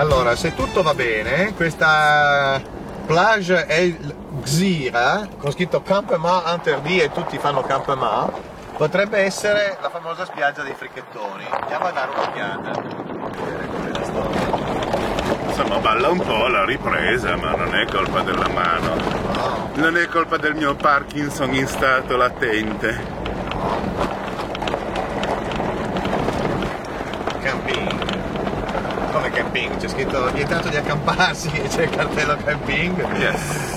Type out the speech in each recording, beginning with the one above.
Allora, se tutto va bene, questa plage è Gzira, con scritto Campement Interdit e tutti fanno Campement, potrebbe essere la famosa spiaggia dei fricchettoni. Andiamo a dare un'occhiata. Insomma, balla un po' la ripresa, ma non è colpa della mano. No. Non è colpa del mio Parkinson in stato latente. Camping. Come camping? C'è scritto vietato di accamparsi e c'è il cartello camping. Yes.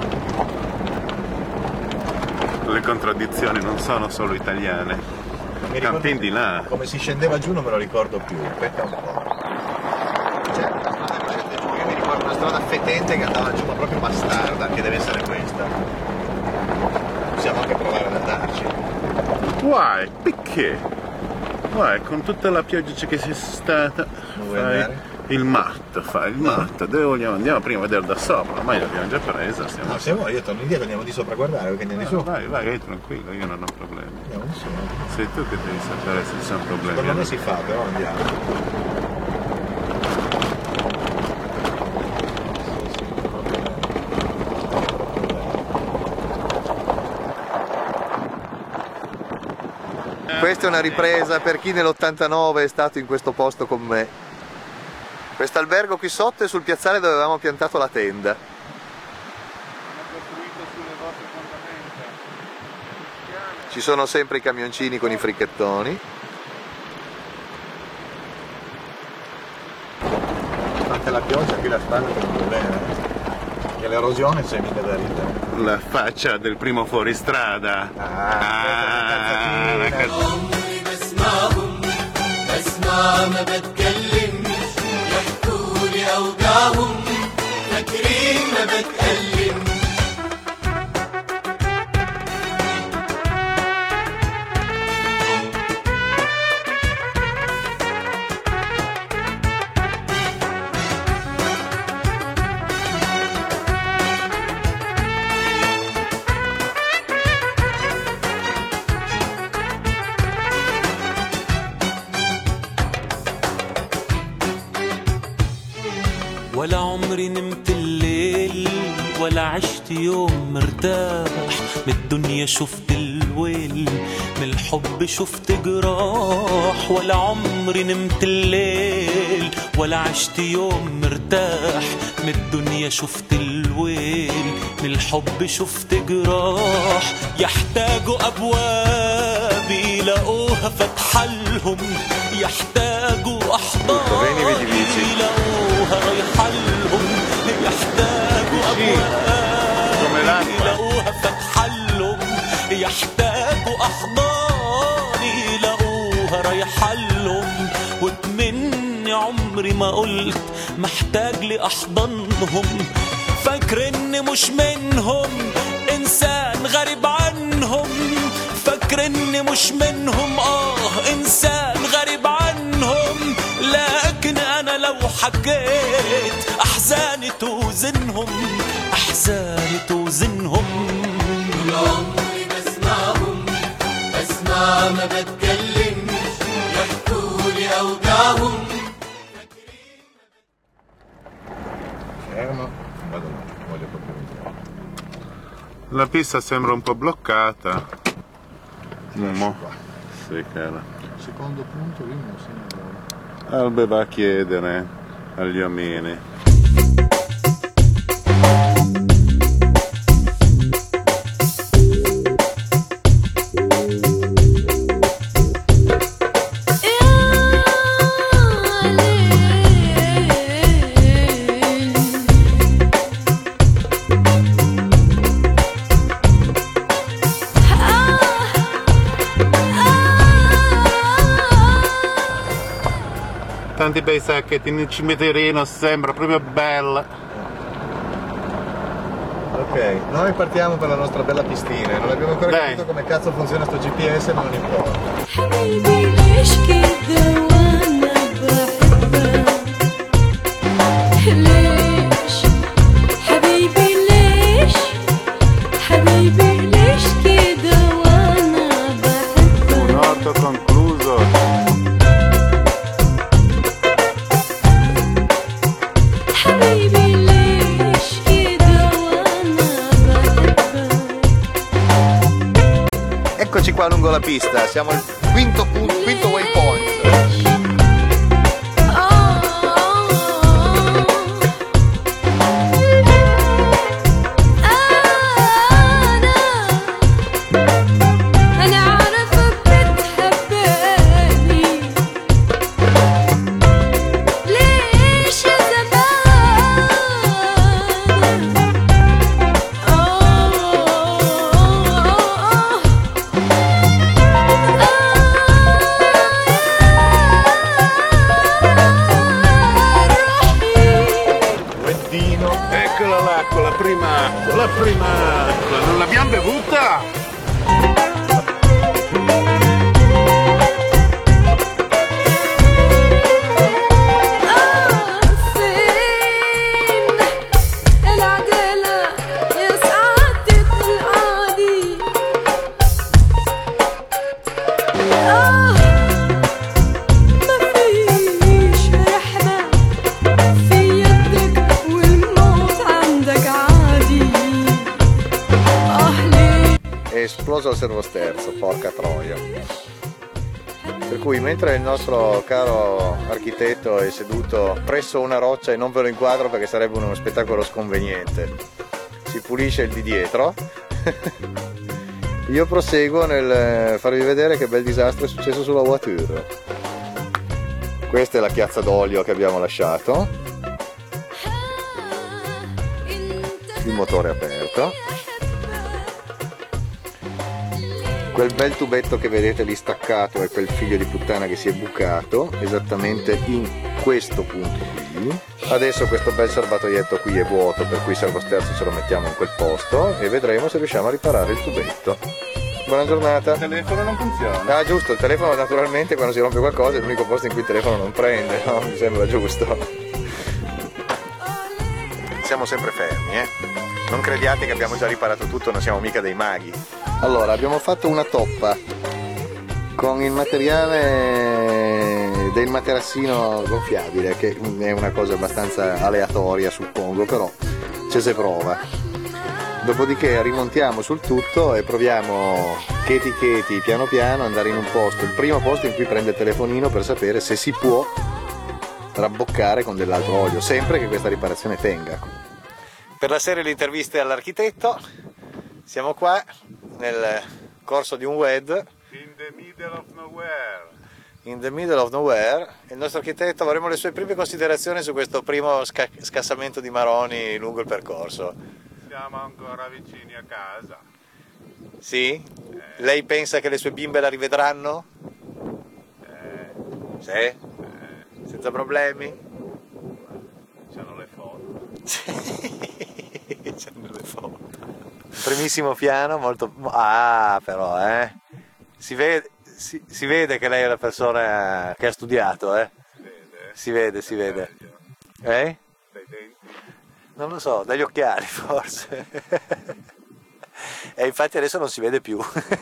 Le contraddizioni non sono solo italiane. Camping di là. Come si scendeva giù non me lo ricordo più. Aspetta un po'. Cioè, la strada che scende giù, io mi ricordo una strada fetente che andava giù, ma proprio bastarda, che deve essere questa. Possiamo anche provare ad andarci. Why? Perché? Why? Con tutta la pioggia che c'è stata, Non vuoi fai andare? il matto, fai il matto. Dove vogliamo? Andiamo prima a vedere da sopra, ormai l'abbiamo già presa. Stiamo... No, se vuoi io torno indietro, andiamo di sopra a guardare, perché andiamo di No, su. vai tranquillo, io non ho problemi. Andiamo di su. Sei tu che devi sapere se ci sono problemi. Secondo me si fa, però andiamo. Questa è una ripresa per chi nell'89 è stato in questo posto con me. Questo albergo qui sotto è sul piazzale dove avevamo piantato la tenda. Ci sono sempre i camioncini con i fricchettoni. Anche la pioggia qui la spalla per non bene. E l'erosione c'è mica da ridere. La faccia del primo fuoristrada. La عمري بسمعهم بسمع ما بتكلمش يحكولي أوجاعهم فاكرين ما بتكلمش ولا عمري نمت الليل ولا عشت يوم مرتاح من الدنيا شفت الويل من الحب شفت جراح ولا عمري نمت الليل ولا عشت يوم مرتاح من الدنيا شفت الويل من الحب شفت جراح يحتاجوا أبواب يلاقوها فتحلهم يحتاجوا أحضان يلاقوها رايحلهم يحتاجوا أبواب يلاقوها فتحلهم يحتاجوا أحضان يلاقوها رايحلهم واتمني عمري ما قلت محتاج لأحضانهم فاكر إني مش منهم إنسان غريب عنهم فاكر إني مش منهم إنسان غريب عنهم لكن أنا لو حكيت أحزاني توزنهم أحزاني توزنهم طول عمري بسمعهم بسمع ما بتكلمش يحكولي أوجاعهم Fermo, vado là, voglio proprio vedere. La pista sembra un po' bloccata. Mo. Qua. Sì, cara. Secondo punto io non sembra. Albe va a chiedere agli omini. Tanti bei sacchetti nel cimiterino, sembra proprio bella. Ok, noi partiamo per la nostra bella pistina, non abbiamo ancora capito come cazzo funziona sto GPS, ma non importa. حبيبي ليش كده وانا بحبك ليش حبيبي ليش حبيبي ليش كده وانا بحبك Un orto concluso. Eccoci qua lungo la pista, siamo al quinto waypoint. Eccola l'acqua, la prima acqua, non l'abbiamo bevuta? È esploso il servosterzo, porca troia. Per cui mentre il nostro caro architetto è seduto presso una roccia, e non ve lo inquadro perché sarebbe uno spettacolo sconveniente, si pulisce il di dietro, io proseguo nel farvi vedere che bel disastro è successo sulla voiture. Questa è la chiazza d'olio che abbiamo lasciato, il motore aperto, quel bel tubetto che vedete lì staccato è quel figlio di puttana che si è bucato esattamente in questo punto qui. Adesso questo bel serbatoietto qui è vuoto, per cui il servosterzo ce lo mettiamo in quel posto e vedremo se riusciamo a riparare il tubetto. Buona giornata. Il telefono non funziona. Ah, giusto, il telefono naturalmente quando si rompe qualcosa è l'unico posto in cui il telefono non prende, no? Mi sembra giusto. Siamo sempre fermi, non crediate che abbiamo già riparato tutto, non siamo mica dei maghi. Allora, abbiamo fatto una toppa con il materiale del materassino gonfiabile, che è una cosa abbastanza aleatoria suppongo, però ci si prova. Dopodiché rimontiamo sul tutto e proviamo cheti cheti, piano piano, andare in un posto, il primo posto in cui prende il telefonino, per sapere se si può rabboccare con dell'altro olio, sempre che questa riparazione tenga. Per la serie le interviste all'architetto siamo qua nel corso di un WED In the middle of nowhere. in the middle of nowhere. Il nostro architetto, avremo le sue prime considerazioni su questo primo scassamento di maroni lungo il percorso. Siamo ancora vicini a casa. Sì? Lei pensa che le sue bimbe la rivedranno? Sì? Senza problemi? C'hanno le foto. C'hanno le foto. Primissimo piano, molto... Ah, però, si vede che lei è una persona che ha studiato, Si vede, si vede. Dai denti. Non lo so, dagli occhiali forse. E infatti adesso non si vede più.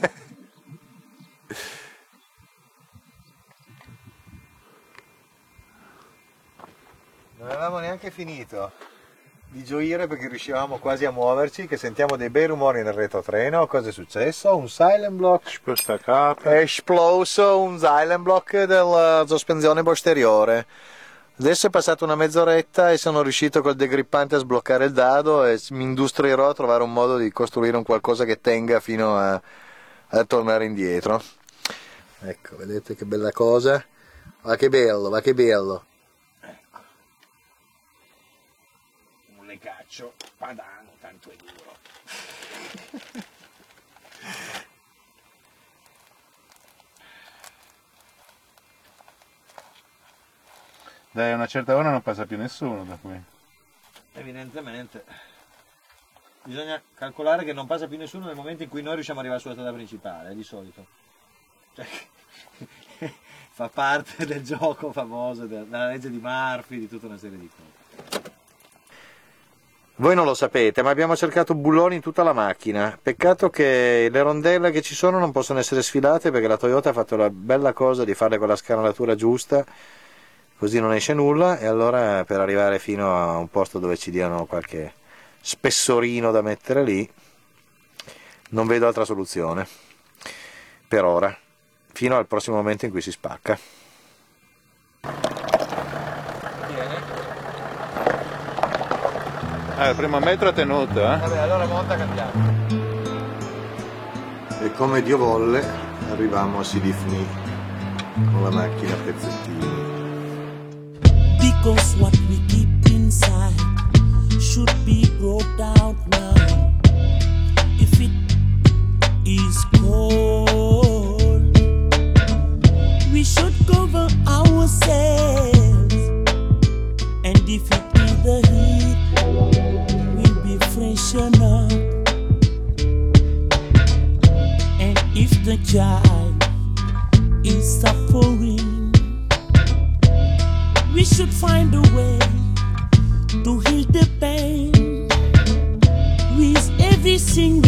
Non avevamo neanche finito di gioire perché riuscivamo quasi a muoverci, che sentiamo dei bei rumori nel retrotreno. Cosa è successo? Un silent block. Sposta capo. È esploso un silent block della sospensione posteriore. Adesso è passata una mezz'oretta e sono riuscito col degrippante a sbloccare il dado e mi industrierò a trovare un modo di costruire un qualcosa che tenga fino a tornare indietro. Ecco, vedete che bella cosa? Va che bello, va che bello. Un lecaccio padano, tanto è duro. Dai, a una certa ora non passa più nessuno da qui. Evidentemente. Bisogna calcolare che non passa più nessuno nel momento in cui noi riusciamo ad arrivare sulla strada principale, di solito. Cioè, fa parte del gioco famoso, della legge di Murphy, di tutta una serie di cose. Voi non lo sapete, ma abbiamo cercato bulloni in tutta la macchina. Peccato che le rondelle che ci sono non possono essere sfilate, perché la Toyota ha fatto la bella cosa di farle con la scanalatura giusta, così non esce nulla. E allora, per arrivare fino a un posto dove ci diano qualche spessorino da mettere lì, non vedo altra soluzione. per ora, fino al prossimo momento in cui si spacca. Il primo metro è tenuto, eh? Vabbè, allora monta, cambiamo. E come Dio volle arriviamo a Sidifni con la macchina a pezzettini. Because what we keep inside should be brought out now. If it is cold, we should cover ourselves. And if it is the heat, we'll be freshen up. And if the child is suffering, we should find a way to heal the pain with every single